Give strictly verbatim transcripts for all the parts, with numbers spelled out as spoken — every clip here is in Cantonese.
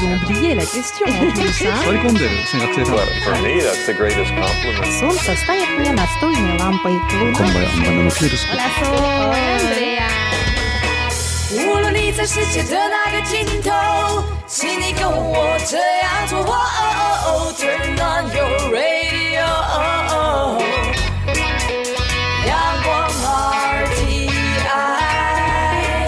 ont oublié la question en plus, hein? Well, for me, that's the greatest compliment. Солнце стоит мне настольной лампой. Hola, Sol. Andrea. 无论你在世界的哪个尽头，请你跟我这样做。Turn on your radio. 阳光 R T I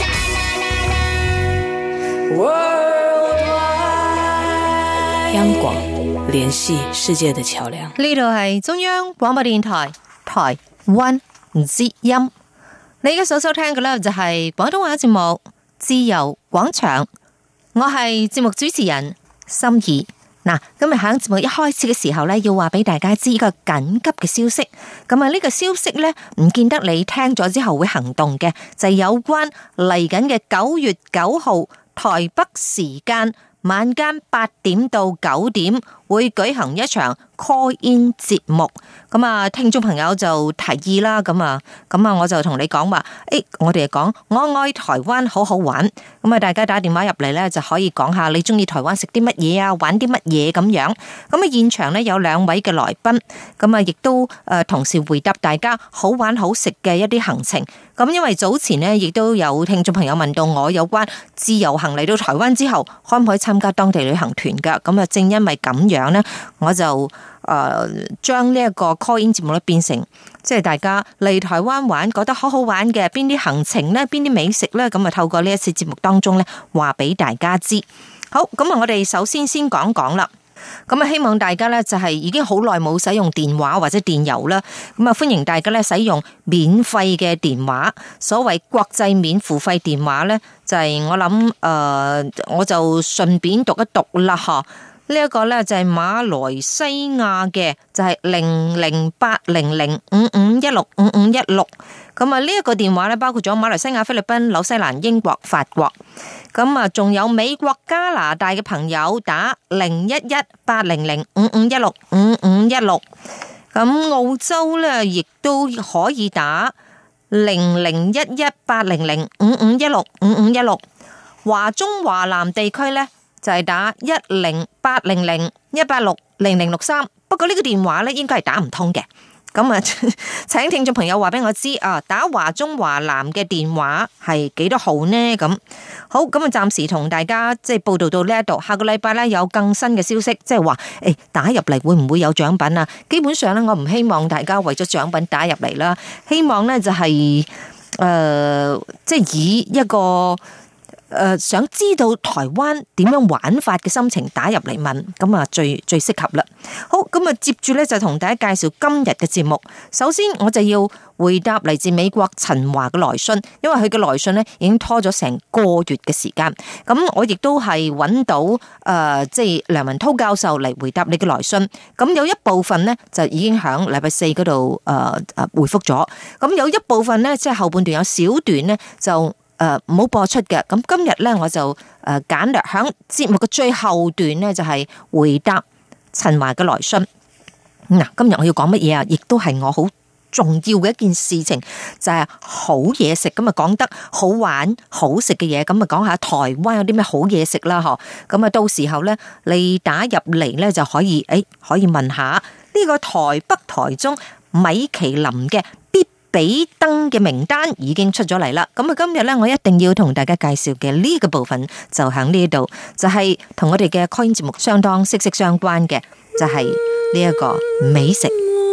Worldwide。 央廣聯繫世界的橋樑。 呢度係中央廣播電台台灣之音。你而家所收聽嘅咧就係廣東話節目《自由廣場》，我係節目主持人心儀。嗱，今日喺節目一開始嘅時候咧，要話俾大家知一個緊急嘅消息。咁啊，呢個消息咧唔見得你聽咗之後會行動嘅，就係有關嚟緊嘅九月九號台北時間晚間八點到九點會舉行一場 call in 節目。咁啊，聽眾朋友就提議啦，咁啊，咁啊，我就同你講話，誒，我哋講我愛台灣，好好玩。咁啊，大家打電話入嚟咧，就可以講下你中意台灣食啲乜嘢啊，玩啲乜嘢咁樣。咁啊，現場咧有兩位嘅來賓，咁啊，亦都誒同時回答大家好玩好食嘅一啲行程。咁因為早前呢，亦都有聽眾朋友問到我有關自由行嚟到台灣之後，可唔可以參加當地旅行團噶？咁啊，正因為咁樣呢，我就誒將呢一個 call in 節目咧變成即係大家嚟台灣玩覺得好好玩嘅邊啲行程呢，邊啲美食呢？咁啊透過呢一次節目當中呢，話俾大家知。好，咁啊我哋首先先講講啦。咁啊，希望大家咧就係已經好耐冇使用電話或者電郵啦。咁啊，歡迎大家咧使用免費嘅電話。所謂國際免付費電話咧，就係、是、我諗誒、呃，我就順便讀一讀啦，嗬。呢一個咧就係馬來西亞嘅，就係零零八零零五五一六五五一六。咁啊，呢一個電話咧包括咗馬來西亞、菲律賓、紐西蘭、英國、法國。咁啊，仲有美國、加拿大嘅朋友打零一一八零零五五一六五五一六。咁澳洲咧亦都可以打零零一一八零零五五一六五五一六。華中華南地區咧就係打一零八零零一八六零零六三。不過呢個電話咧應該係打唔通嘅。咁啊，請聽眾朋友話俾我知啊，打華中華南嘅電話係幾多號呢？咁好，咁啊，暫時同大家即係報道到呢一度，下個禮拜咧有更新嘅消息，即係話誒打入嚟會唔會有獎品啊？基本上咧，我唔希望大家為咗獎品打入嚟啦，希望咧就係、是、誒、呃，即係以一個。誒、呃，想知道台灣點樣玩法嘅心情打入嚟問，咁啊最最適合啦。好，咁啊接住咧就同大家介紹今日嘅節目。首先我就要回答嚟自美國陳華嘅來信，因為佢嘅來信咧已經拖咗成個月嘅時間。咁我亦都係揾到誒、呃，即係梁文韜教授嚟回答你嘅來信。咁有一部分咧就已經響禮拜四嗰度誒誒回覆咗。咁有一部分咧即係後半段有小段咧就。誒，唔好播出嘅。咁今日咧，我就誒簡略響節目嘅最後段咧，就係回答陳華嘅來信。嗱，今日我要講乜嘢啊？亦都係我好重要嘅一件事情，就係好嘢食。咁啊，講得好玩、好食嘅嘢，咁啊，講下台灣有啲咩好嘢食啦，嗬。咁啊，到時候咧，你打入嚟咧就可以，誒，可以問下呢個台北、台中米其林嘅必比登嘅名單已經出咗嚟啦，咁啊今日咧我一定要同大家介紹嘅呢個部分就喺呢度，就係同我哋嘅 call in 節目相當息息相關嘅，就係呢一個美食。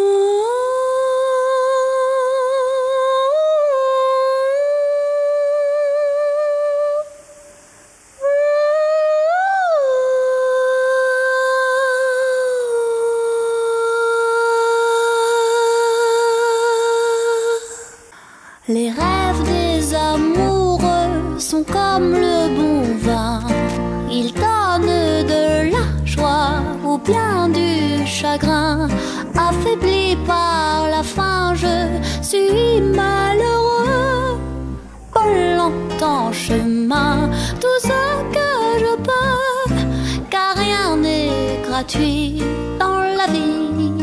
Les rêves des amoureux sont comme le bon vin, ils donnent de la joie ou bien du chagrin. Affaibli par la faim, je suis malheureux. Volant en chemin, tout ce que je peux, car rien n'est gratuit dans la vie.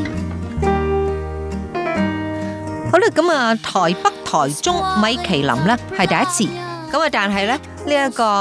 好啦，咁啊，台北、台中米其林咧係第一次，咁啊，但係咧呢一個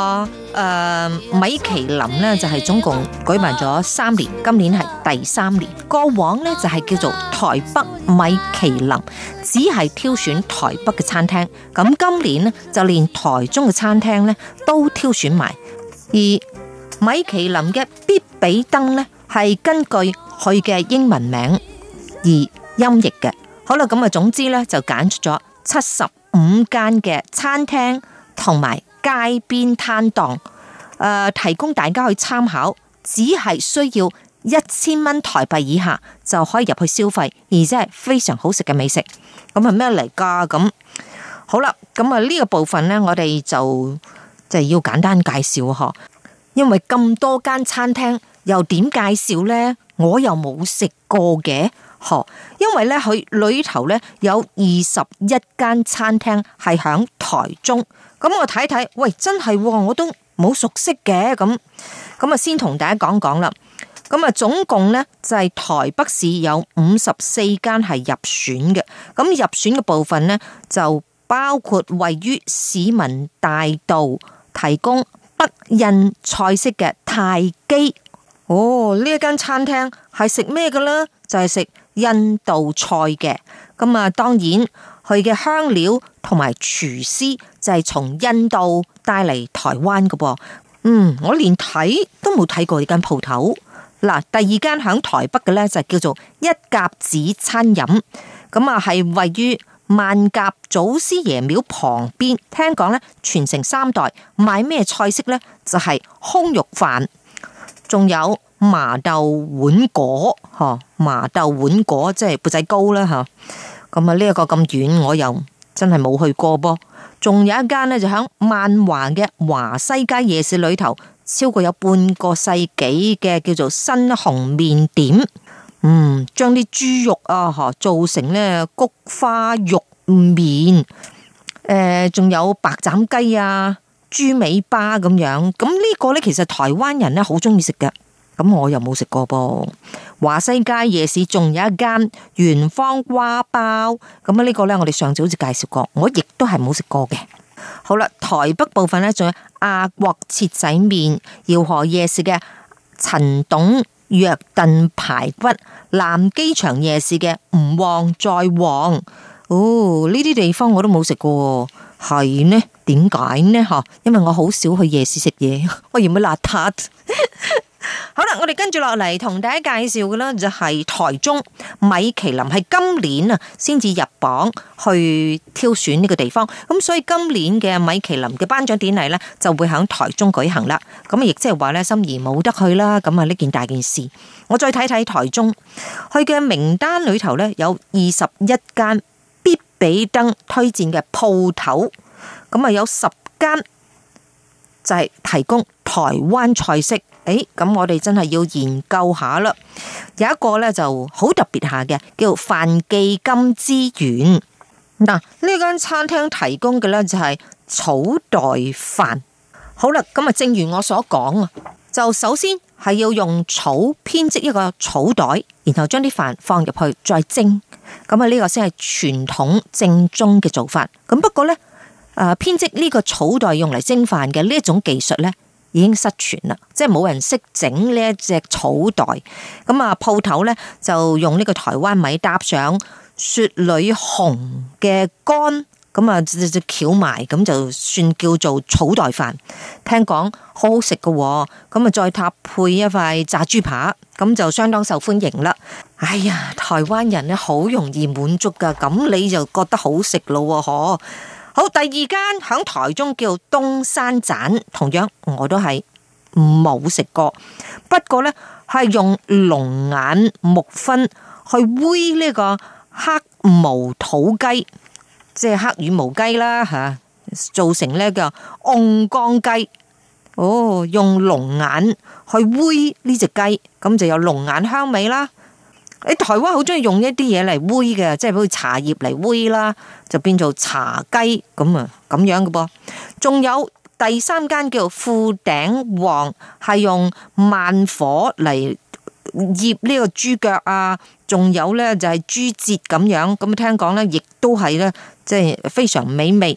誒，米其林咧就係總共舉辦咗三年，今年係第三年。過往咧就係叫做台北米其林，只係挑選台北嘅餐廳。咁今年咧就連台中嘅餐廳咧都挑選埋。而米其林嘅必比登咧係根據佢嘅英文名而音譯嘅。好啦，咁啊，總之咧就揀出咗七十五間嘅餐廳同埋街邊攤檔，誒、呃，提供大家去參考，只係需要一千蚊台幣以下就可以入去消費，而且係非常好食嘅美食。咁係咩嚟噶？咁好啦，咁啊呢個部分呢，我哋就就要簡單介紹嗬，因為咁多間餐廳又點介紹呢？我又冇食過嘅，嗬，因為呢，佢裏頭呢有二十一間餐廳係響台中。咁我睇睇，喂，真係我都冇熟悉嘅，咁咁啊，先同大家講講啦。咁啊，總共呢就係台北市有五十四間係入選嘅。咁入選嘅部分呢，就包括位於市民大道提供北印菜式嘅泰基。哦，呢一間餐廳係食咩嘅呢？就係食印度菜嘅。咁啊，當然佢嘅香料同埋廚師就係從印度帶嚟台灣嘅噃。嗯，我連睇都冇睇過呢間鋪頭。嗱，第二間響台北嘅呢，就叫做一甲子餐飲。咁啊，係位於萬甲祖師爺廟旁邊。聽講呢，傳承三代，賣咩菜式呢？就係空肉飯，仲有麻豆碗果，嗬，麻豆碗果即係缽仔糕啦，吓。咁啊，呢一個咁遠，我又真係冇去過噃。仲有一間呢，就響萬華嘅華西街夜市裏頭，超過有半個世紀嘅叫做新紅麵點。嗯，將啲豬肉啊，嗬，做成呢菊花肉麵。誒、呃，仲有白斬雞啊、豬尾巴咁樣。咁呢個呢，其實台灣人呢好中意食嘅。咁我又冇食過噃。華西街夜市仲有一間元芳瓜包，咁啊呢個呢，我哋上次好似介紹過，我亦都係冇食過嘅。好啦，台北部分呢，仲有亞國切仔麵、饒河夜市嘅陳董藥燉排骨、南機場夜市嘅唔旺再旺。哦，呢啲地方我都冇食過，係呢？點解呢？吓，因為我好少去夜市食嘢，我嫌佢邋遢。好啦，我哋跟住落嚟同大家介紹嘅啦，就係台中米其林，係今年啊先至入榜去挑選呢個地方，咁所以今年嘅米其林嘅頒獎典禮呢，就會喺台中舉行啦。咁亦即係話呢，心儀冇得去啦，咁啊呢件大件事。我再睇睇台中，佢嘅名單裏頭呢，有二十一間必比登推薦嘅鋪頭，咁啊有十間就係提供台灣菜式。誒，咁我哋真係要研究下啦。有一個咧就好特別下嘅，叫范記金之園。嗱，呢間餐廳提供嘅咧就係草袋飯。好啦，咁啊，正如我所講啊，就首先係要用草編織一個草袋，然後將啲飯放入去再蒸。咁啊，呢個先係傳統正宗嘅做法。咁不過咧，誒，編織呢個草袋用嚟蒸飯嘅呢一種技術咧，已經失傳啦，即係冇人識整呢一隻草袋。咁啊，鋪頭咧就用呢個台灣米搭上雪裏紅嘅乾，咁啊就就攪埋，咁就算叫做草袋飯。聽講好好食噶，咁啊再搭配一塊炸豬扒，咁就相當受歡迎啦。哎呀，台灣人咧好容易滿足噶，咁你就覺得好食咯，嗬。好，第二間響台中叫東山棧，同樣我都係冇食過，不過呢，係用龍眼木燻去煨呢個黑毛土雞，即係黑羽毛雞啦吓，做成呢個甕缸雞。哦，用龍眼去煨呢隻雞，咁就有龍眼香味啦。你台灣好中意用一啲嘢嚟煨嘅，即係好似茶葉嚟煨啦，就變做茶雞咁啊，咁樣嘅噃。仲有第三間叫富鼎旺，係用慢火嚟醃呢個豬腳啊，仲有咧就係豬節咁樣。咁聽講咧，亦都係咧，即係非常美味。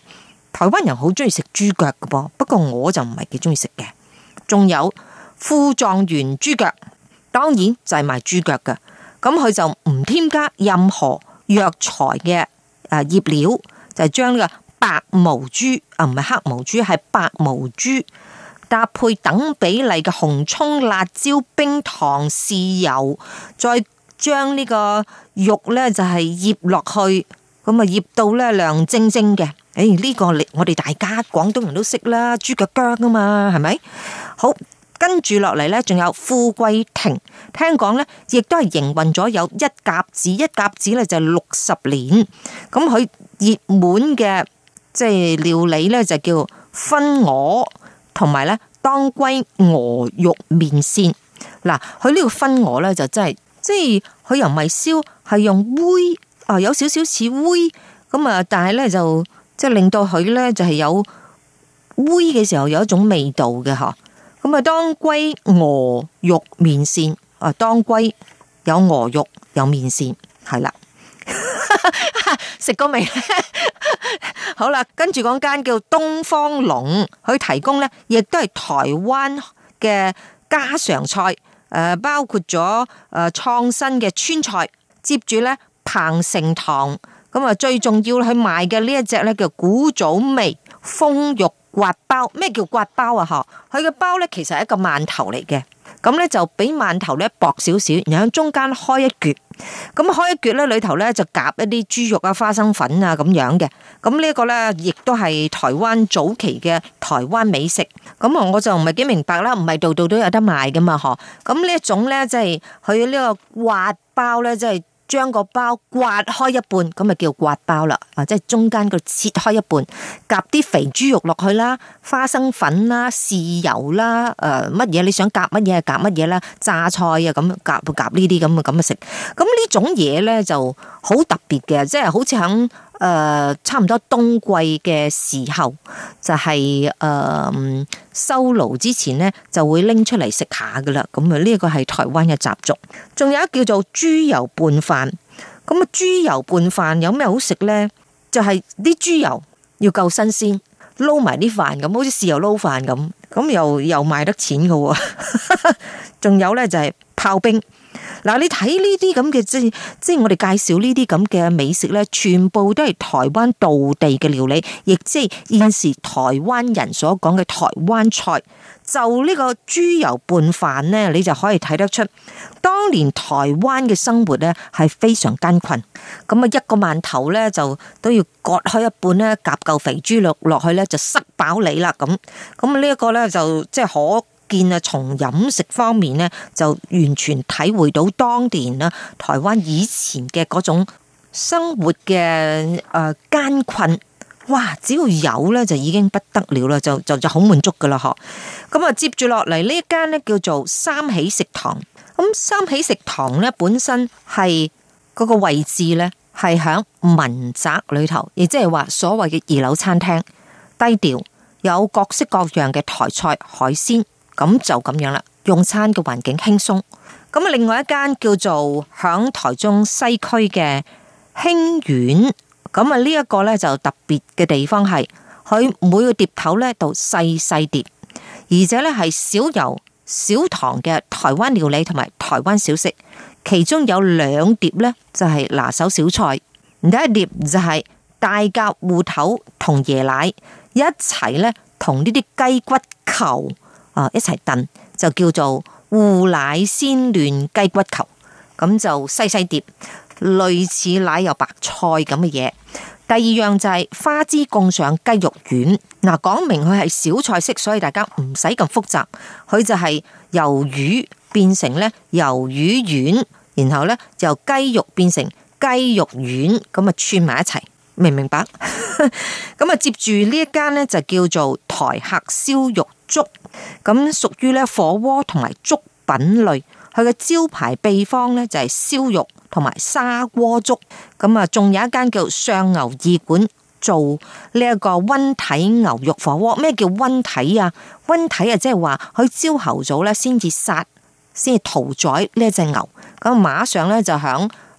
台灣人好中意食豬腳㗎噃，不過我就唔係幾中意食嘅。仲有富狀元豬腳，當然就係賣豬腳㗎，咁佢就唔添加任何藥材嘅誒醃料，就係將呢個白毛豬啊，唔係黑毛豬，係白毛豬，搭配等比例嘅紅蔥、辣椒、冰糖、豉油，再將呢個肉咧就係醃落去，咁啊醃到咧亮晶晶嘅。誒，呢個我哋大家廣東人都識啦，豬腳薑啊嘛，係咪？好，跟住落嚟咧，仲有富貴亭，聽講咧，亦都係營運咗有一甲子，一甲子咧就係六十年。咁佢熱門嘅即係料理咧就叫分鵝，同埋咧當歸鵝肉麵線。嗱，佢呢個分鵝咧就真係，即係佢又唔係燒，係用煨啊，有少少似煨咁啊，但係咧就。即係令到佢咧就係有煨嘅時候有一種味道嘅嗬，咁啊當歸鵝肉麵線啊，當歸有鵝肉有麵線係啦，食過未？好啦，跟住講間叫東方龍，佢提供咧亦都係台灣嘅家常菜，誒包括咗誒創新嘅川菜，接住咧彭城堂。咁啊，最重要去賣嘅呢一隻咧叫古早味豐肉刮包。咩叫刮包啊？嗬，佢嘅包咧其實係一個饅頭嚟嘅，咁咧就比饅頭咧薄少少，然後中間開一橛，咁開一橛咧裏頭咧就夾一啲豬肉啊、花生粉啊咁樣嘅。咁呢一個咧亦都係台灣早期嘅台灣美食。咁啊，我就唔係幾明白啦，唔係度度都有得賣噶嘛，嗬。咁呢一種咧即係佢呢個刮包咧，即係。將個包刮開一半，咁咪叫刮包啦。啊，即係中間個切開一半，夾啲肥豬肉落去啦，花生粉啦、豉油啦，誒乜嘢你想夾乜嘢夾乜嘢啦，榨菜啊咁夾夾呢啲咁嘅咁嘅食。咁呢種嘢咧就好特別嘅，即係好似響誒差唔多冬季嘅時候，就係誒收爐之前咧就會拎出嚟食下噶啦。咁啊呢個係台灣嘅習俗。仲有一叫做豬油拌飯。咁啊豬油拌飯有咩好食咧？就係啲豬油要夠新鮮，撈埋啲飯咁，好似豉油撈飯咁，咁又又賣得錢噶。仲有咧就係炮兵。嗱，你睇呢啲咁嘅，即係即係我哋介紹呢啲咁嘅美食咧，全部都係台灣道地嘅料理，亦即係現時台灣人所講嘅台灣菜。就呢個豬油拌飯咧，你就可以睇得出，當年台灣嘅生活咧係非常艱困。咁啊，一個饅頭咧就都要割開一半咧，夾嚿肥豬肉落去咧就塞飽你啦。咁咁呢一個咧就即係可見啊，從飲食方面咧就完全體會到當年啦台灣以前嘅嗰種生活嘅誒艱困。哇！只要有咧就已經不得了啦，就就就好滿足噶啦嗬。咁啊，接住落嚟呢一間咧叫做三喜食堂。咁三喜食堂咧本身係嗰個位置咧係響民宅裏頭，亦即係話所謂嘅二樓餐廳，低調，有各式各樣嘅台菜海鮮，咁就咁樣啦。用餐嘅環境輕鬆。咁啊，另外一間叫做響台中西區嘅興苑。咁啊，呢一個咧就特別嘅地方係，佢每個碟頭咧都細細碟，而且咧係少油少糖嘅台灣料理同埋台灣小食。其中有兩碟咧就係拿手小菜，第一碟就係大甲芋頭同椰奶一齊咧同呢啲雞骨球啊一齊燉，就叫做芋奶鮮嫩雞骨球，咁就細細碟。類似奶油白菜咁嘅嘢。第二樣就係花枝貢上雞肉丸。嗱，講明佢係小菜式，所以大家唔使咁複雜。佢就係魷魚變成咧魷魚丸，然後咧就由雞肉變成雞肉丸，咁啊串埋一齊，明唔明白？咁啊接住呢一間咧就叫做台客燒肉粥，咁屬於咧火鍋同埋粥品類。佢嘅招牌秘方咧就係燒肉同埋砂鍋粥，咁啊仲有一間叫上牛二館做呢一個溫體牛肉火鍋。咩叫溫體啊？溫體啊即係話佢朝頭早咧先至殺，先至屠宰呢一隻牛，咁馬上咧就響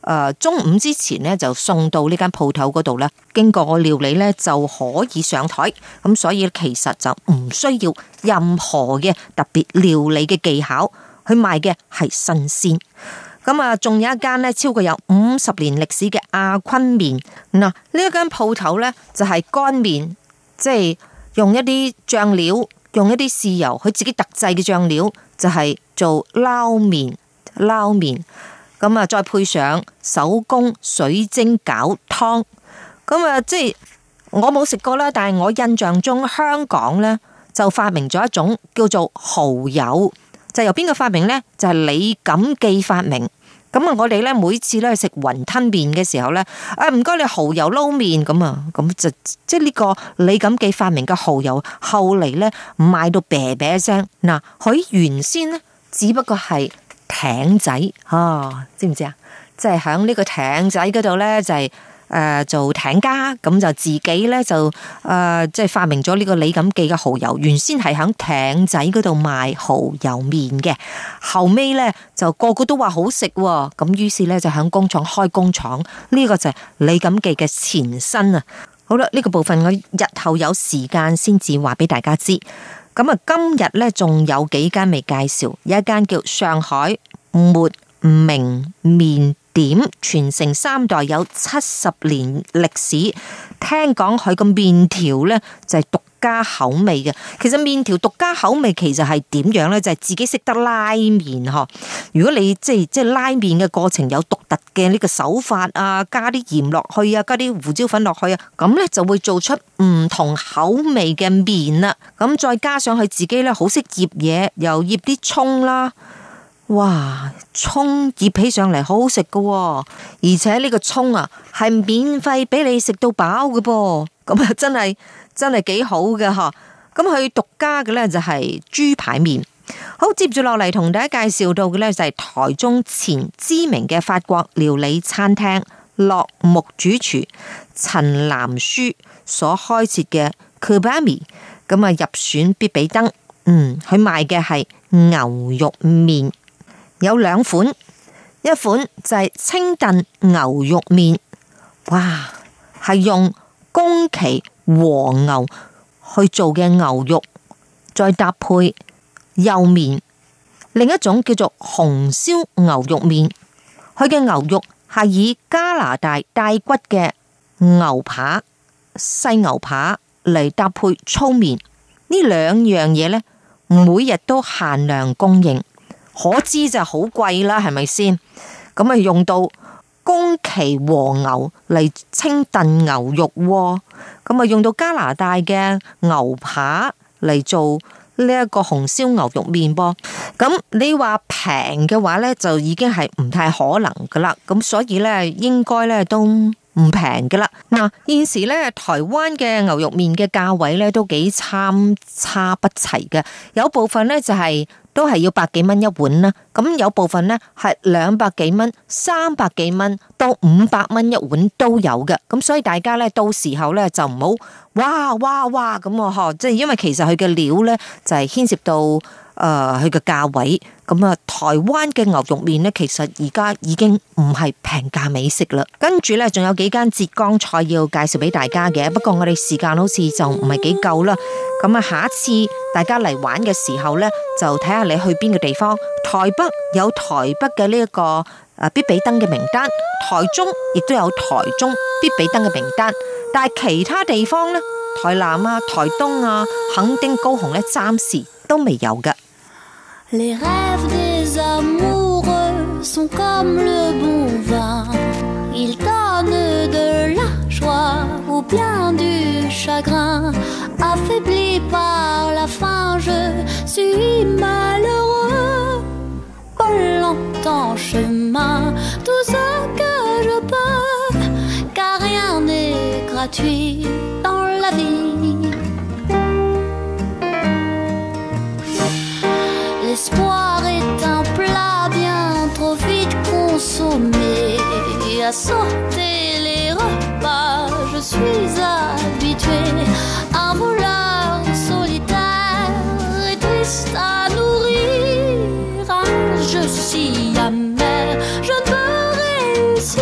誒中午之前咧就送到呢間鋪頭嗰度咧，經過料理咧就可以上台。咁所以其實就唔需要任何嘅特別料理嘅技巧，佢賣嘅係新鮮。咁啊，仲有一間咧超過有五十年歷史嘅阿坤麵。嗱，呢一間鋪頭咧就係乾麵，即係用一啲醬料，用一啲豉油，佢自己特製嘅醬料就係做撈麵，撈麵。咁啊，再配上手工水晶餃湯。咁啊，即係我冇食過啦，但係我印象中香港咧就發明咗一種叫做蠔油。就由邊個發明呢？就係李錦記發明。咁啊，我哋咧每次咧食雲吞麵嘅時候咧，啊唔該你蠔油撈麵咁啊，咁就即係呢個李錦記發明嘅蠔油，後嚟咧賣到啤啤聲。嗱，佢原先咧只不過係艇仔啊，知唔知啊？即係響呢個艇仔嗰度咧就係、是。誒、呃，做艇家咁就自己咧就誒，即、呃、係、就是、發明咗呢個李錦記嘅蠔油。原先係響艇仔嗰度賣蠔油麵嘅，後尾咧就個個都話好食，咁於是咧就響工廠開工廠。呢、這個就係李錦記嘅前身啊。好啦，呢、這個部分我日後有時間先至話俾大家知。咁啊，今日咧仲有幾間未介紹，有一間叫上海抹明麵點，傳承三代，有七十年歷史。聽講佢個麵條呢就係獨家口味嘅。其實麵條獨家口味其實係點樣呢？就係、是、自己識得拉麵嗬。如果你即係即係拉麵嘅過程有獨特嘅呢個手法啊，加啲鹽落去啊，加啲胡椒粉落去啊，咁呢就會做出唔同口味嘅麵啦。咁再加上佢自己呢好識醃嘢，又醃啲蔥啦。哇，蔥醃起上嚟好好食噶，而且呢個蔥啊係免費俾你食到飽嘅噃，咁啊真係真係幾好嘅嗬。咁佢獨家嘅呢就係豬排麵。好，接住落嚟同大家介紹到嘅呢就係台中前知名嘅法國料理餐廳樂木主廚陳南書所開設嘅 Kubami， 咁啊入選必比登。嗯，佢賣嘅係牛肉麵。有兩款，一款就係清燉牛肉麵，哇，係用宮崎和牛去做嘅牛肉，再搭配幼麵。另一種叫做紅燒牛肉麵，佢嘅牛肉係以加拿大帶骨嘅牛扒、細牛扒嚟搭配粗麵。呢兩樣嘢呢，每日都限量供應。可知就好貴啦，係咪先？咁啊用到宮崎和牛嚟清燉牛肉，咁啊用到加拿大嘅牛扒嚟做呢一個紅燒牛肉麵噃。咁你話平嘅話呢，就已經係唔太可能噶啦。咁所以呢，應該呢都唔平噶啦。嗱，現時呢，台灣嘅牛肉麵嘅價位呢都幾參差不齊嘅，有部分呢就係、是。都係要百幾蚊一碗啦，咁有部分呢係兩百幾蚊、三百幾蚊到五百蚊一碗都有嘅，咁所以大家呢，到時候呢就唔好哇哇哇咁啊嗬，即係因為其實佢嘅料呢就係牽涉到誒佢嘅價位，咁啊台灣嘅牛肉麵呢，其實而家已經唔係平價美食啦。跟住呢，仲有幾間浙江菜要介紹俾大家嘅，不過我哋時間好似就唔係幾夠啦。咁啊，下一次大家嚟玩嘅時候呢，就睇下你去邊個地方。台北有台北嘅呢一個誒必比登嘅名單，台中亦都有台中必比登嘅名單，但係其他地方呢，台南啊、台東啊、墾丁、高雄呢，暫時都未有嘅。 Les rêves des amoureux sont comme le bon vin, ils donnent de la joie ou bien du chagrin. Affaibli par la faim, je suis malheureux. Volant en chemin, tout ce que je peux, car rien n'est gratuit dans la vie.L'espoir est un plat bien trop vite consommé. À sauter les repas, je suis habitué. Un voleur solitaire et triste à nourrir. Un jeu si amer, je ne peux réussir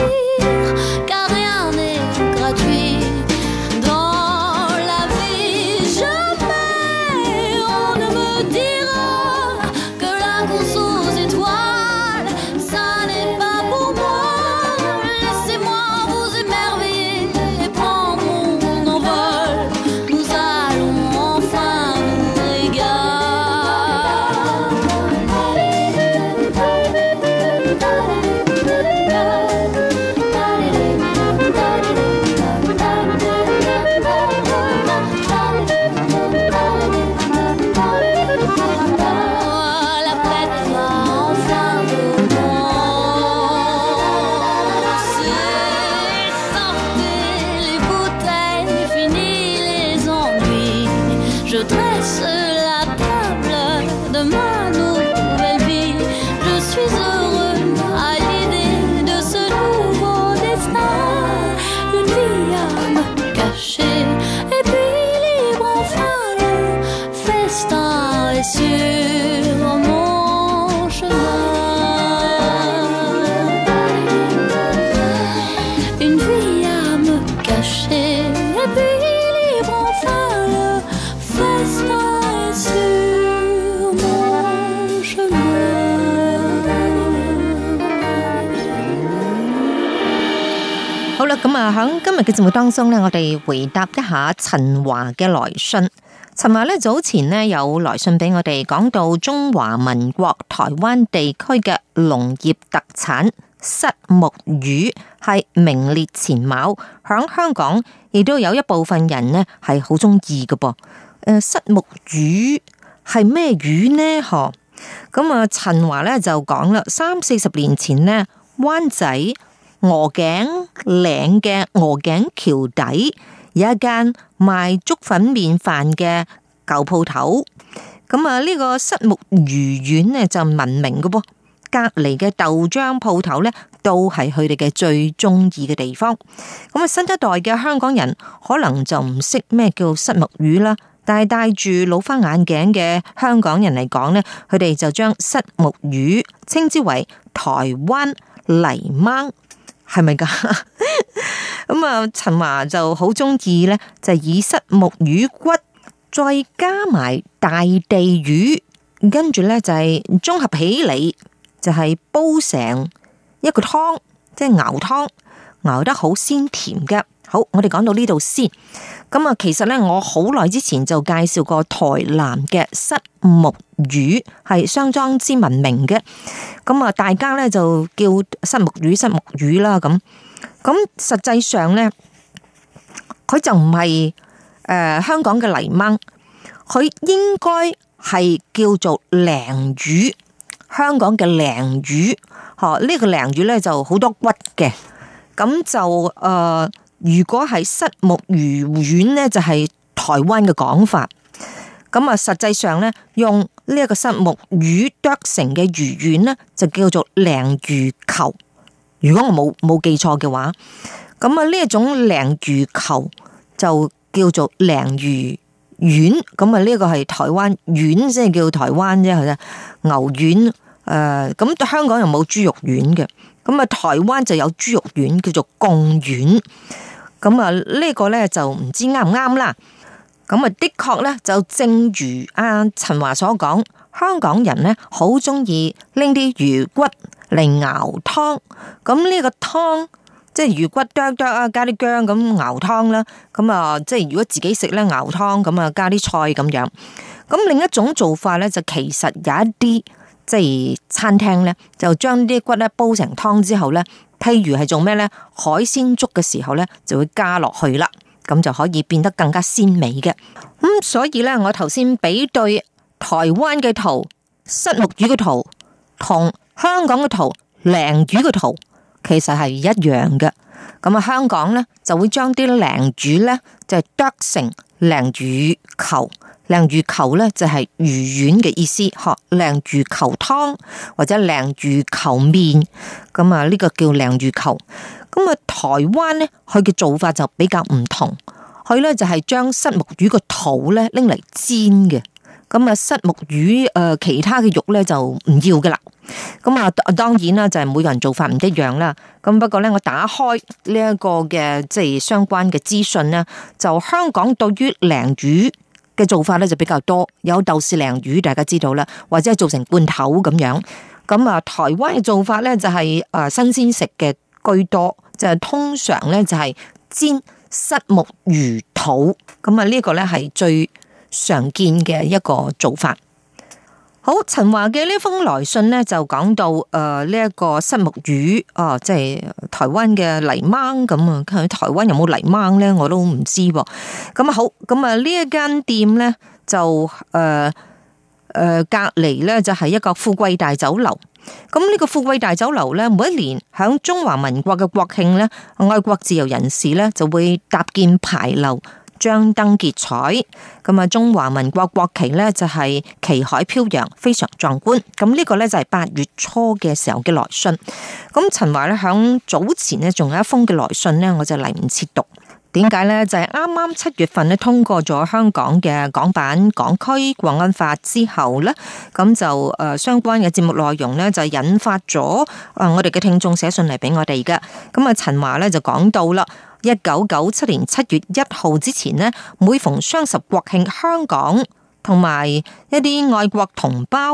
咁啊，喺今日嘅節目當中呢，我哋回答一下陳華嘅來信。陳華呢早前呢有來信俾我哋，講到中華民國台灣地區嘅農業特產虱目魚係名列前茅，響香港亦都有一部分人呢係好中意嘅噃。誒，虱目魚係咩魚呢？嗬，咁啊，陳華呢就講啦，三四十年前呢，灣仔鵝頸嶺嘅鵝頸橋底有一間賣粥粉麵飯嘅舊鋪頭，咁啊呢個虱目魚丸呢就聞名嘅噃，隔籬嘅豆漿鋪頭呢都係佢哋嘅最中意嘅地方。咁啊新一代嘅香港人可能就唔識咩叫虱目魚啦，但係戴住老花眼鏡嘅香港人嚟講呢，佢哋就將虱目魚稱之為台灣泥鯭。係咪噶？咁啊，陳華就好中意咧，就以虱目魚骨再加埋大地魚，跟住咧就係綜合起嚟，就係煲成一個湯，即係熬湯，熬得好鮮甜嘅。好，我哋講到呢度先。咁啊，其實咧，我好耐之前就介紹過台南嘅虱目魚，係相當之聞名嘅。咁啊，大家咧就叫虱目魚、虱目魚啦。咁咁實際上咧，佢就唔係誒香港嘅泥鯭，佢應該係叫做鯪魚，香港嘅鯪魚。嗬，呢個鯪魚咧就好多骨嘅，咁就誒。呃如果係虱目魚丸呢，就係台灣嘅講法。咁啊，實際上呢，用呢一個虱目魚剁成嘅魚丸呢，就叫做鯪魚球。如果我冇冇記錯嘅話，咁啊呢一種鯪魚球就叫做鯪魚丸。咁啊呢個係台灣丸，即係叫台灣啫，係牛丸。誒、呃，咁香港又冇豬肉丸嘅，咁啊台灣就有豬肉丸，叫做貢丸。咁啊，呢個咧就唔知啱唔啱啦。咁啊，的確咧就正如阿陳華所講，香港人咧好中意拎啲魚骨嚟熬湯。咁呢個湯即係魚骨剁剁啊，加啲薑咁熬湯啦。咁啊，即係如果自己食咧熬湯，咁啊加啲菜咁樣。咁另一種做法咧就其實有一啲即係餐廳咧就將啲骨咧煲成湯之後咧。譬如係做咩呢？海鮮粥嘅時候呢，就會加落去啦，咁就可以變得更加鮮美嘅。咁、嗯、所以呢，我頭先比對台灣嘅圖虱目魚嘅圖同香港嘅圖鯪魚嘅圖，其實係一樣嘅。咁啊，香港呢，就會將啲鯪魚呢，就係剁成鯪魚球。鯪魚球咧就係魚丸嘅意思，學鯪魚球湯或者鯪魚球麵，咁啊呢個叫鯪魚球。咁啊台灣咧佢嘅做法就比較唔同，佢咧就係將虱目魚個肚咧拎嚟煎嘅，咁啊虱目魚誒其他嘅肉咧就唔要噶啦。咁啊當然啦，就係每個人做法唔一樣啦。咁不過咧我打開呢一個嘅即係相關嘅資訊咧，就香港對於鯪魚嘅做法咧就比較多，有豆豉鯪魚大家知道啦，或者係做成罐頭咁樣。咁啊，台灣嘅做法咧就係誒新鮮食嘅居多，就係通常咧就係煎虱目魚肚。咁啊呢個咧係最常見嘅一個做法。好，陳華嘅呢封來信咧就講到誒呢一個虱目魚啊，即係台灣嘅泥鯭咁啊。佢台灣有冇泥鯭咧，我都唔知噃。咁啊好，咁啊呢一間店咧就誒誒隔籬咧就係一個富貴大酒樓。咁呢個富貴大酒樓咧，每一年響中華民國嘅國慶咧，愛國自由人士咧就會搭建牌樓。張燈結彩，咁啊中華民國國旗呢就係旗海飄揚，非常壯觀。咁呢個呢就係八月初嘅時候嘅來信。咁陳華呢響早前呢仲有一封嘅來信呢，我就嚟唔切讀。點解呢？就係啱啱七月份呢通過咗香港嘅港版港區國安法之後呢，咁就誒相關嘅節目內容呢，就引發咗誒我哋嘅聽眾寫信嚟俾我哋嘅。咁啊陳華呢就講到啦。一九九七年七月一號之前呢，每逢雙十國慶，香港同埋一啲愛國同胞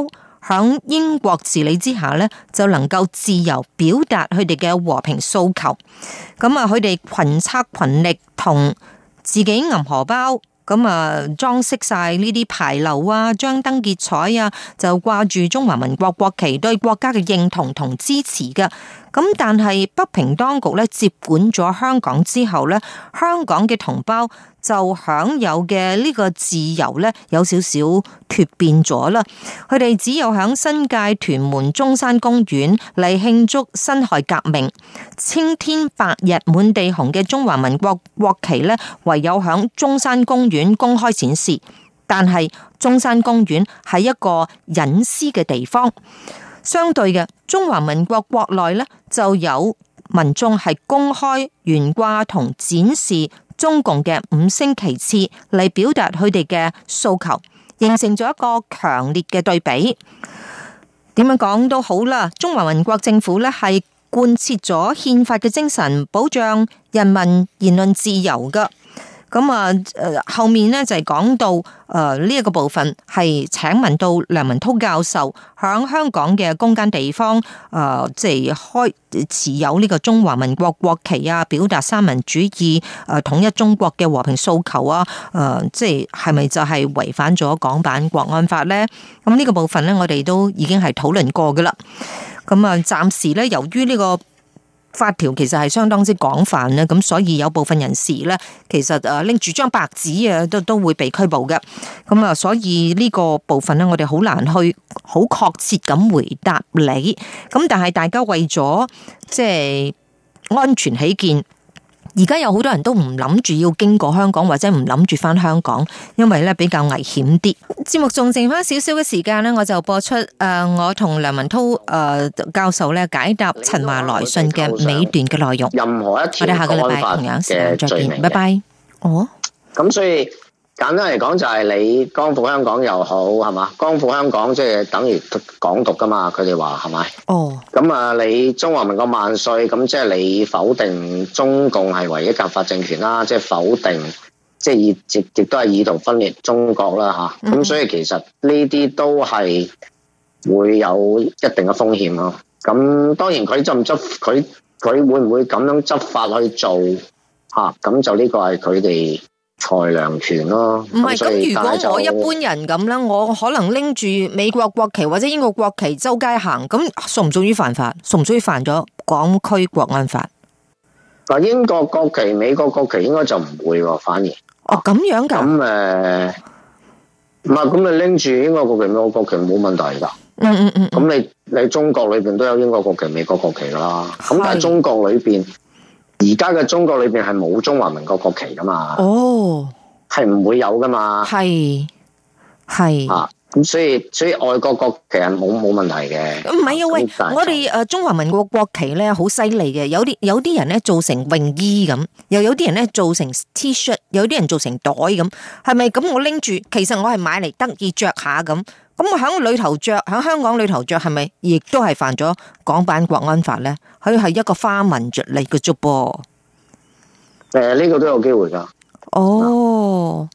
響英國治理之下咧，就能夠自由表達佢哋嘅和平訴求。咁啊，佢哋群策群力，同自己銀荷包。咁啊，裝飾晒呢啲牌樓啊，張燈結彩啊，就掛住中華民國國旗，對國家嘅認同同支持嘅。咁但係北平當局咧接管咗香港之後咧，香港嘅同胞就享有嘅呢個自由咧有少少脫變咗啦。佢哋只有響新界屯門中山公園嚟慶祝辛亥革命，青天白日滿地紅嘅中華民國國旗咧，唯有響中山公園公開展示。但係中山公園係一個隱私嘅地方。相對嘅，中華民國國內咧就有民眾係公開懸掛同展示中共嘅五星旗幟嚟表達佢哋嘅訴求，形成咗一個強烈嘅對比。點樣講都好啦，中華民國政府咧係貫徹咗憲法嘅精神，保障人民言論自由噶。咁啊，誒，後面咧就係講到誒呢一個部分係請問到梁文韜教授響香港嘅公間地方誒，即係開持有呢個中華民國國旗啊，表達三民主義誒統一中國嘅和平訴求啊，誒，即係係咪就係違反咗港版國安法咧？咁呢個部分咧，我哋都已經係討論過噶啦。咁啊，暫時咧，由於呢個法條其實係相當之廣泛咧，咁所以有部分人士咧，其實誒拎住張白紙啊，都都會被拘捕嘅。咁啊，所以呢個部分咧，我哋好難去好確切咁回答你。咁但係大家為咗即係安全起見，而家有好多人都唔諗住要經過香港，或者唔諗住返香港，因為咧比較危險啲。節目仲剩翻少少嘅時間咧，我就播出誒、呃、我同梁文韜誒、呃、教授咧解答陳華來信嘅尾段嘅內容。 任何一條我哋下個禮拜同樣時間再見，拜拜。哦，咁所以簡單嚟講就係你光復香港又好係嘛？光復香港即係等於港獨噶嘛？佢哋話係咪？哦，咁啊，你中華民國萬歲，咁即係你否定中共係唯一合法政權啦，即係否定。即係亦亦亦都係意圖分裂中國啦吓，咁、嗯、所以其實呢啲都係會有一定嘅風險咯。咁當然佢執唔執，佢佢會唔會咁樣執法去做吓？咁就呢個係佢哋裁量權咯。唔係咁，如果我一般人咁咧，我可能拎住美國國旗或者英國國旗周街行，咁屬唔屬於犯法？屬唔屬於犯咗港區國安法？嗱，英國國旗、美國國旗應該就唔會喎，反而。哦，咁樣噶？咁誒，唔係，咁你拎住英國國旗、美國國旗冇問題噶。嗯嗯嗯。咁你你中國裏邊都有英國國旗、美國國旗噶啦。咁但係中國裏邊，而家嘅中國裏邊係冇中華民國國旗噶嘛？哦，係唔會有噶嘛？係係啊。咁所以所以外國國旗係冇冇問題嘅。唔係啊，喂，我哋誒中華民國國旗咧好犀利嘅，有啲有啲人咧做成泳衣咁，又有啲人咧做成 T 恤，有啲人做成袋咁，係咪咁？我拎住，其實我係買嚟得意着下咁，咁我喺裏頭着，喺香港裏頭着，係咪亦都係犯咗港版國安法咧？佢係一個花紋着嚟嘅啫噃。誒，呢個都有機會噶。哦。